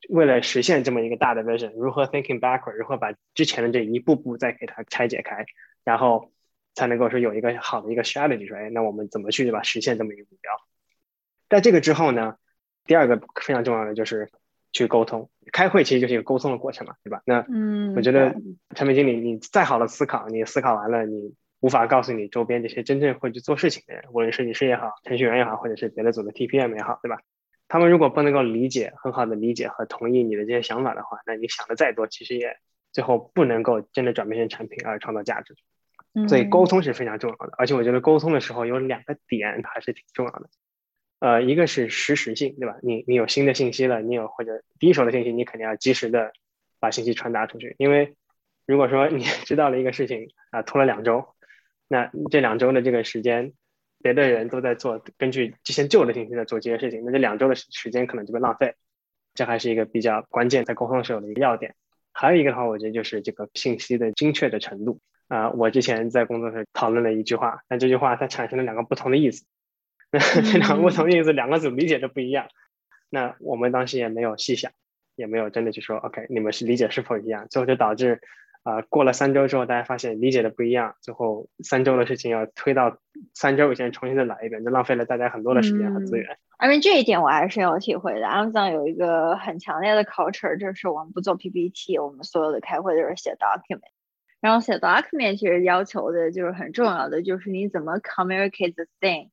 为了实现这么一个大的 vision， 如何 thinking backward， 如何把之前的这一步步再给它拆解开，然后才能够说有一个好的一个 strategy， 说，哎，那我们怎么去对吧实现这么一个目标？在这个之后呢，第二个非常重要的就是去沟通。开会其实就是一个沟通的过程嘛，对吧？那我嗯， 觉得对， 产品经理你再好的思考，你思考完了，你无法告诉你周边这些真正会去做事情的人，无论设计师也好，程序员也好，或者是别的组的 T P M 也好，对吧？他们如果不能够理解，很好的理解和同意你的这些想法的话，那你想的再多，其实也最后不能够真的转变成产品而创造价值。所以沟嗯通是非常重要的，而且我觉得沟通的时候有两个点还是挺重要的。呃，一个是实时性，对吧？你你有新的信息了，你有或者第一手的信息，你肯定要及时的把信息传达出去。因为如果说你知道了一个事情啊、拖了两周，那这两周的这个时间，别的人都在做根据之前旧的信息在做这些事情，那这两周的时间可能就被浪费。这还是一个比较关键在沟通时候的一个要点。还有一个的话，我觉得就是这个信息的精确的程度啊、我之前在工作时讨论了一句话，但这句话它产生了两个不同的意思。那这两个不同嗯的意思，两个组理解的不一样。那我们当时也没有细想，也没有真的去说 OK，你们是理解是否一样，最后就导致啊、呃过了三周之后，大家发现理解的不一样，最后三周的事情要推到三周以前重新再来一遍，就浪费了大家很多的时间和资嗯， 源。 因为这一点我还是有体会的。Amazon 有一个很强烈的 culture，就是我们不做 P P T，我们所有的开会都是写 document。然后写 document 其实要求的就是很重要的，就是你怎么 communicate the thing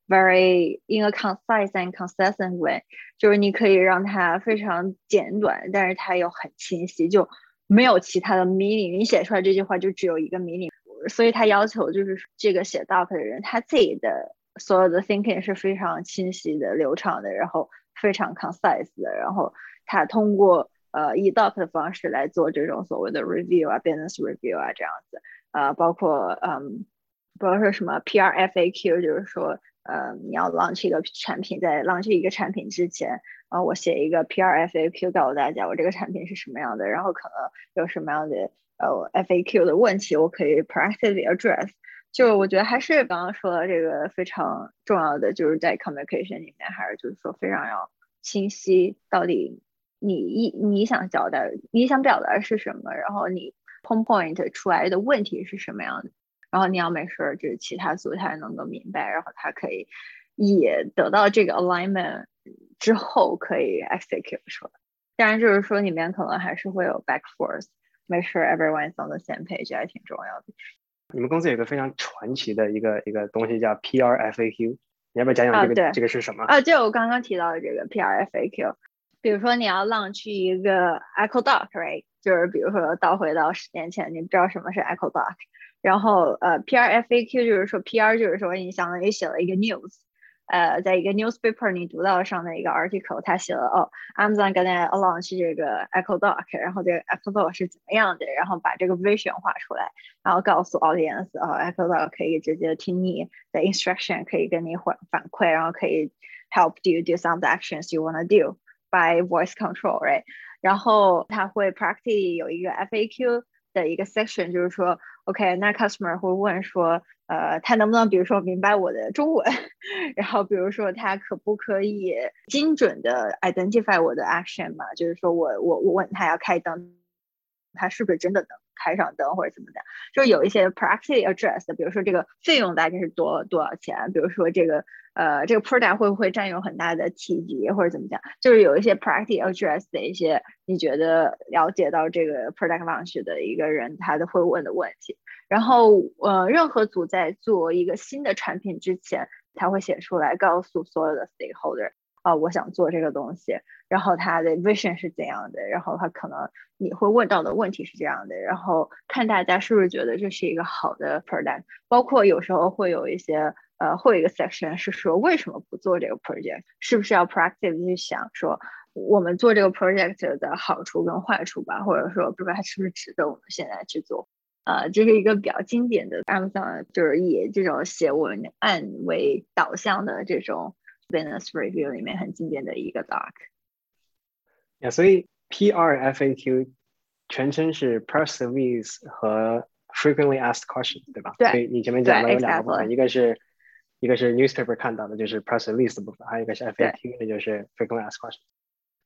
very in a concise and consistent way，就是你可以让它非常简短，但是它又很清晰，就没有其他的 meaning。你写出来这句话就只有一个 meaning，所以他要求就是这个写 doc 的人他自己的所有的 thinking 是非常清晰的、流畅的，然后非常 concise 的，然后他通过呃以 doc 的方式来做这种所谓的 review 啊、business review 啊这样子，呃，包括嗯，包括说什么 P R F A Q，就是说呃你要 launch 一个产品，在 launch 一个产品之前。啊、呃，我写一个 P R F A Q 告诉大家我这个产品是什么样的，然后可能有什么样的呃 F A Q 的问题，我可以 proactively address。就我觉得还是刚刚说的这个非常重要的，就是在 communication 里面，还是就是说非常要清晰，到底你一你想交代，你想表达是什么，然后你 pinpoint 出来的问题是什么样的，然后你要 make sure 就是其他组他能够明白，然后他可以也得到这个 alignment 之后可以 execute 出来。当然就是说里面可能还是会有 back forth，make sure everyone's on the same page 还挺重要的。 你们公司有一个非常传奇的一个一个东西叫 P R F A Q，你要不要讲讲啊， 这个对， 这个是什么？ 啊，就我刚刚提到的这个 P R F A Q，比如说你要 launch 一个 Echo Doc，right？就是比如说倒回到十年前，你不知道什么是 Echo Doc，然后呃 P R F A Q 就是说 P R 就是说你相当于写了一个 news，呃，在一个 newspaper 你读到上的一个 article，他写了哦，Amazon gonna launch 这个 Echo Doc，然后这个 Echo Doc 是怎么样的，然后把这个 vision 画出来，然后告诉 audience，哦，Echo Doc 可以直接听你的 instruction，可以跟你反反馈，然后可以 help you do some of the actions you wanna do by voice control，right？然后他会 practically 有一个 F A Q 的一个 section，就是说 OK，那 customer 会问说，呃，他能不能比如说明白我的中文，然后比如说他可不可以精准的 identify 我的 action 嘛？就是说我我我问他要开灯，他是不是真的能开上灯或者怎么的？就是有一些 practically address 的，比如说这个费用大概是多多少钱？比如说这个呃这个 product 会不会占用很大的体积或者怎么讲？就是有一些 practically address 的一些你觉得了解到这个 product launch 的一个人他的会问的问题。然后呃任何组在做一个新的产品之前，他会写出来告诉所有的 stakeholder。啊、呃，我想做这个东西，然后他的 vision 是怎样的，然后他可能你会问到的问题是这样的，然后看大家是不是觉得这是一个好的 product，包括有时候会有一些呃，会有一个 section 是说为什么不做这个 project，是不是要 proactive 去想说我们做这个 project 的好处跟坏处吧，或者说不知道它是不是值得我们现在去做。呃，这是一个比较经典的 Amazon，就是以这种写文案为导向的这种 business review 里面很经典的一个 doc。 呀，所以 P R F A Q 全称是 Press Release 和 Frequently Asked Questions，对吧？ 对所以你前面对讲了有两个部分， ，exactly， 一个是一个是 newspaper 看到的，就是 Press Release 的部分，还有一个是对。 F A Q，那就是 Frequently Asked Questions。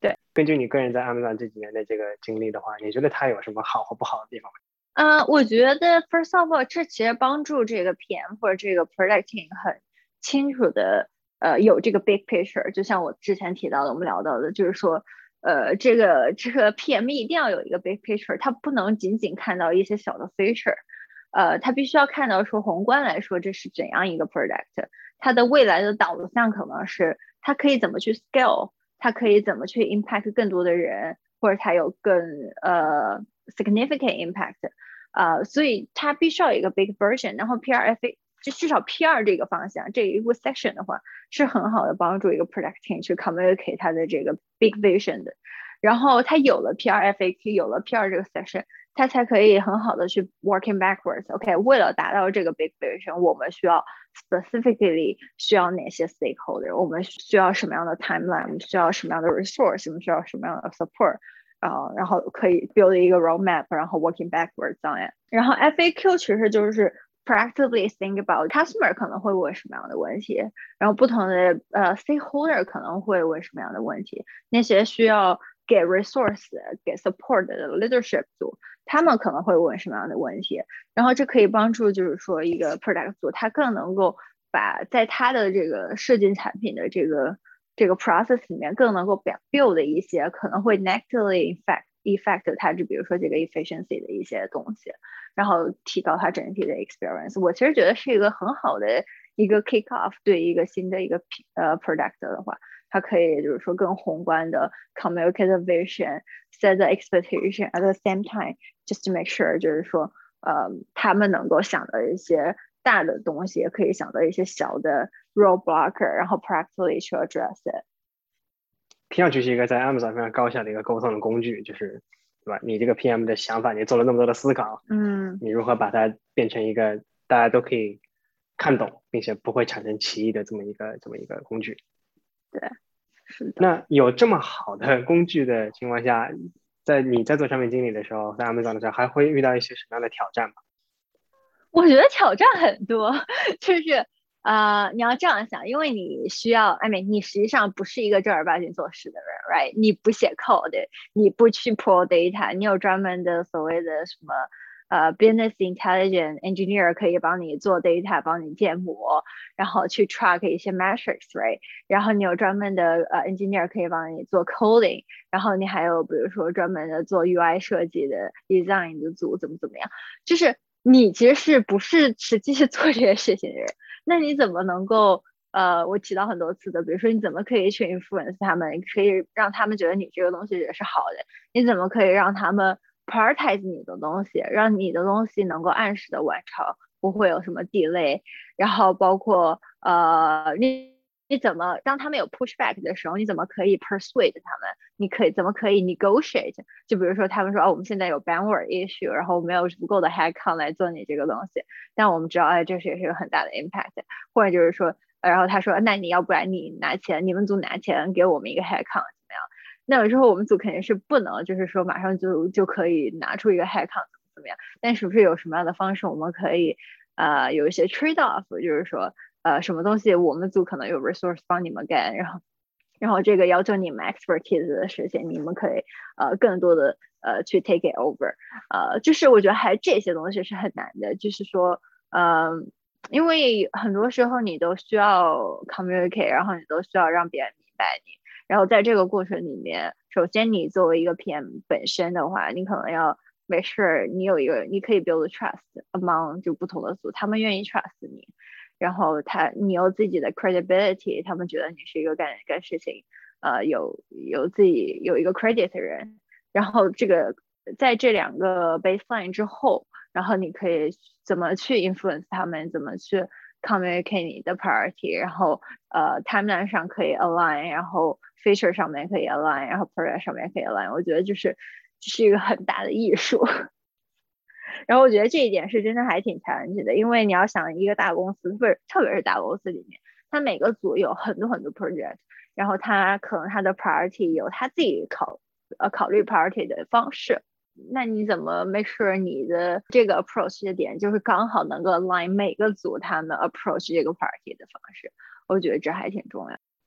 对， 根据你个人在 Amazon 这几年的这个经历的话，你觉得它有什么好或不好的地方吗？ 呃，我觉得 first of all，这其实帮助这个 P M 或者这个 product team 很清楚的，呃，有这个 big picture。就像我之前提到的，我们聊到的，就是说，呃，这个这个 P M 一定要有一个 big picture，它不能仅仅看到一些小的 feature，呃，它必须要看到说宏观来说这是怎样一个 product，它的未来的导向可能是它可以怎么去 scale，它可以怎么去 impact 更多的人，或者它有更呃 significant impact。呃，所以它必须要有一个 big version，然后 P R F A 就至少 P R 这个方向这一个 section 的话，是很好的帮助一个 product team 去 communicate 它的这个 big vision 的。然后它有了 P R F A Q，有了 P R 这个 section，它才可以很好的去 working backwards。OK， 为了达到这个 big vision，我们需要 specifically 需要哪些 stakeholder，我们需要什么样的 timeline，我们需要什么样的 resource，我们需要什么样的 support。呃，然后可以 build 一个 roadmap，然后 working backwards on it。然后 F A Q 其实就是 proactively think about customer 可能会问什么样的问题，然后不同的呃 stakeholder 可能会问什么样的问题，那些需要给 resource 给 support 的 leadership 组，他们可能会问什么样的问题，然后这可以帮助就是说一个 product 组，他更能够把在他的这个设计产品的这个这个 process 里面更能够 build 的一些可能会 negatively effect effect 它，就比如说这个 efficiency 的一些东西，然后提高它整体的 experience。我其实觉得是一个很好的一个 kick off， 对一个新的一个呃 product 的话，它可以就是说更宏观的 communicate the vision，set the expectation at the same time，just to make sure 就是说呃他们能够想到一些大的东西，也可以想到一些小的 roadblocker， 然后 practically 去 address it。 听上去是一个在 Amazon 非常高效的一个沟通的工具，就是对吧？你这个 P M 的想法，你做了那么多的思考， 嗯， 你如何把它变成一个大家都可以看懂，并且不会产生歧义的这么一个这么一个工具？ 对，是的。 那有这么好的工具的情况下，在你在做产品经理的时候，在 Amazon 的时候，还会遇到一些什么样的挑战吗？ 我觉得挑战很多，就是呃，你要这样想，因为你需要，I mean，你实际上不是一个正儿八经做事的人，right？你不写 code，你不去 pro data，你有专门的所谓的什么呃 business intelligence engineer 可以帮你做 data，帮你建模，然后去 track 一些 metrics，right？然后你有专门的呃 engineer 可以帮你做 coding，然后你还有比如说专门的做 U I 设计的 design 的组怎么怎么样，就是你其实是不是实际是做这些事情的人，那你怎么能够呃，我提到很多次的，比如说你怎么可以去 influence 他们，可以让他们觉得你这个东西也是好的，你怎么可以让他们 prioritize 你的东西，让你的东西能够按时的完成，不会有什么 delay，然后包括呃你。你怎么当他们有 pushback 的时候，你怎么可以 persuade 他们？你可以怎么可以 negotiate？就比如说他们说哦，我们现在有 bandwidth issue，然后我们没有足够的 headcount 来做你这个东西，但我们知道哎，这是也是有很大的 impact。或者就是说，然后他说那你要不然你拿钱，你们组拿钱给我们一个 headcount 怎么样？那有时候我们组肯定是不能就是说马上就就可以拿出一个 headcount 怎么怎么样，但是不是有什么样的方式我们可以呃有一些 trade off，就是说。呃，什么东西我们组可能有 resource 帮你们干，然后，然后这个要求你们 expertise 的事情，你们可以呃更多的呃去 take it over，呃，就是我觉得还这些东西是很难的，就是说，嗯、呃，因为很多时候你都需要 communicate，然后你都需要让别人明白你，然后在这个过程里面，首先你作为一个 P M 本身的话，你可能要 make sure 你有一个你可以 build trust among 就不同的组，他们愿意 trust 你。然后他你有自己的 credibility，他们觉得你是一个干干事情，呃，有有自己有一个 credit 的人。然后这个在这两个 baseline 之后，然后你可以怎么去 influence 他们，怎么去 communicate 你的 priority，然后呃 timeline 上可以 align，然后 feature 上面可以 align，然后 product 上面可以 align。我觉得就是这是一个很大的艺术。然后我觉得这一点是真的还挺 challenge 的，因为你要想一个大公司，不是特别是大公司里面，它每个组有很多很多 project，然后它可能它的 priority 有它自己考呃考虑 priority 的方式，那你怎么 make sure 你的这个 approach 的点就是刚好能够 align 每个组他们 approach 这个 priority 的方式？我觉得这还挺重要。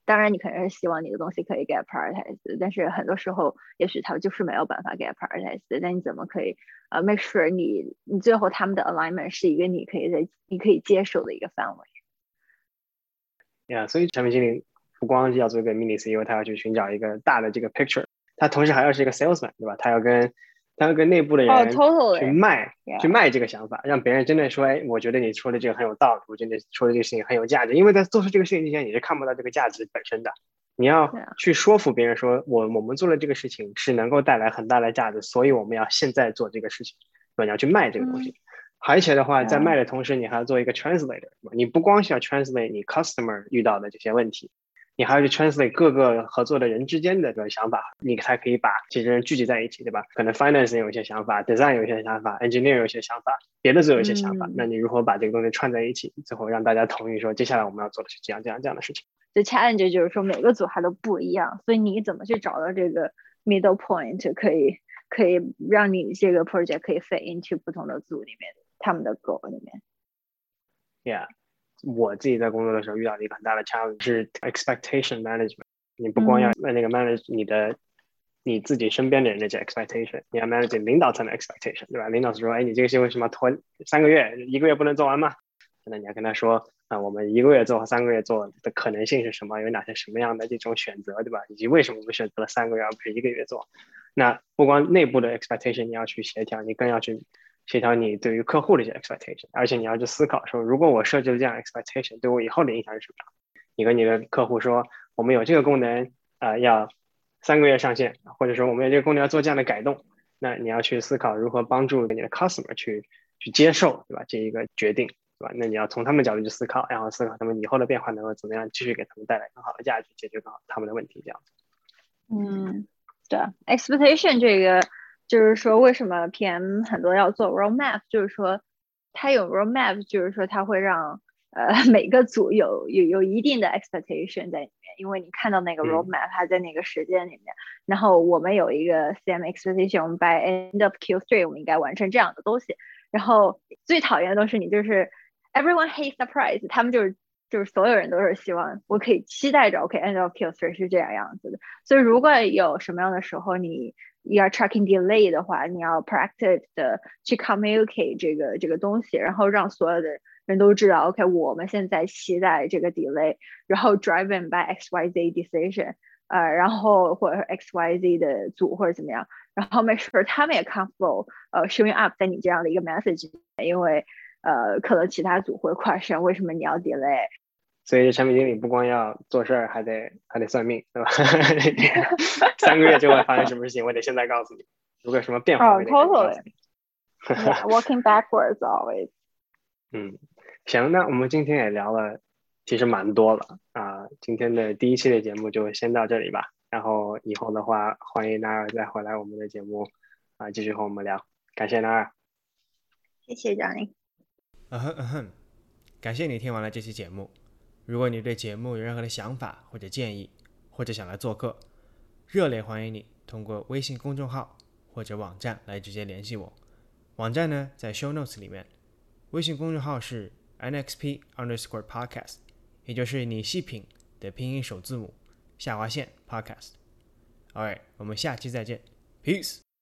当然你肯定是希望你的东西可以 get prioritized， 但是很多时候也许它就是没有办法 get prioritized， 但你怎么可以呃 make sure 你你最后他们的 alignment 是一个你可以在你可以接受的一个范围。 Yeah， 所以产品经理不光是要做一个 mini C E O， 他要去寻找一个大的这个 picture， 他同时还要是一个 salesman， 对吧？他要跟他要跟内部的哦、 人去 totally 卖、 yeah. 去卖这个想法，让别人真的说，哎，我觉得你说的这个很有道理，我觉得你说的这个事情很有价值。因为在做出这个事情之前，你是看不到这个价值本身的。你要去说服别人说，我我们做的这个事情是能够带来很大的价值，所以我们要现在做这个事情，对吧？你要去卖这个东西。嗯，而且的话，在卖的同时，你还要做一个 translator， 你不光需要 translate 你 customer 遇到的这些问题，你还要去 translate 各个合作的人之间的这个想法，你才可以把这些人聚集在一起，对吧？可能 finance 有一些想法 ，design 有一些想法 ，engineer 有一些想法，别的组有一些想法，嗯，那你如何把这个东西串在一起，最后让大家同意说，接下来我们要做的是这样这样这样的事情。 The challenge 就是说每个组还都不一样，所以你怎么去找到这个 middle point， 可以可以让你这个 project 可以 fit into 不同的组里面他们的 goal 里面。 Yeah， 我自己在工作的时候遇到的一个很大的 challenge 是 expectation management。你不光要那个 manage 你的、嗯、你自己身边的人的这 expectation， 你要 manage 领导层的 expectation， 对吧？领导是说，哎，你这个事为什么拖三个月，一个月不能做完吗？那你要跟他说，啊，我们一个月做和三个月做的可能性是什么？有哪些什么样的这种选择，对吧？以及为什么我们选择了三个月而不是一个月做？那不光内部的 expectation 你要去协调，你更要去协调你对于客户的一些 expectation， 而且你要去思考说，如果我设置了这样 expectation， 对我以后的影响是什么样？你跟你的客户说，我们有这个功能，呃，要三个月上线，或者说我们有这个功能要做这样的改动，那你要去思考如何帮助你的 customer 去去接受，对吧？这一个决定。对吧？那你要从他们的角度去思考，然后思考他们以后的变化能够怎么样继续给他们带来更好的价值，解决更好他们的问题，这样子。 嗯，对 ，expectation 这个就是说，为什么 P M 很多要做 roadmap， 就是说，他有 roadmap， 就是说他会让呃每个组有有有一定的 expectation 在里面，因为你看到那个 roadmap，、嗯、它在那个时间里面，然后我们有一个 C M expectation， 我们 by end of Q three 我们应该完成这样的东西，然后最讨厌的都是你就是。Everyone hates surprise， 他们就是就是所有人都是希望我可以期待着 OK end of Q three 是这样样子的，所以如果有什么样的时候你要 tracking delay 的话，你要 proactive 的去 communicate 这个这个东西，然后让所有的人都知道 OK 我们现在期待这个 delay， 然后 driven by X Y Z decision， 呃，然后或者 X Y Z 的组或者怎么样，然后 make sure 他们也 comfortable 呃 showing up 在你这样的一个 message， 因为呃，可能其他组会 question 为什么你要 delay， 所以产品经理不光要做事儿，还得还得算命，对吧？三个月之后发生什么事情，我得现在告诉你。如果有什么变化，我得告诉你。 Yeah, working backwards always. 嗯，行，那我们今天也聊了，其实蛮多了啊、呃。今天的第一期的节目就先到这里吧。然后以后的话，欢迎纳尔再回来我们的节目啊、呃，继续和我们聊。感谢纳尔， 谢谢 Johnny。 嗯哼嗯哼，感谢你听完了这期节目。如果你对节目有任何的想法或者建议，或者想来做客，热烈欢迎你通过微信公众号或者网站来直接联系我。网站呢在 show notes 里面，微信公众号是 N X P underscore podcast， 也就是你细品的拼音首字母下划线 podcast。Alright， 我们下期再见 ，peace。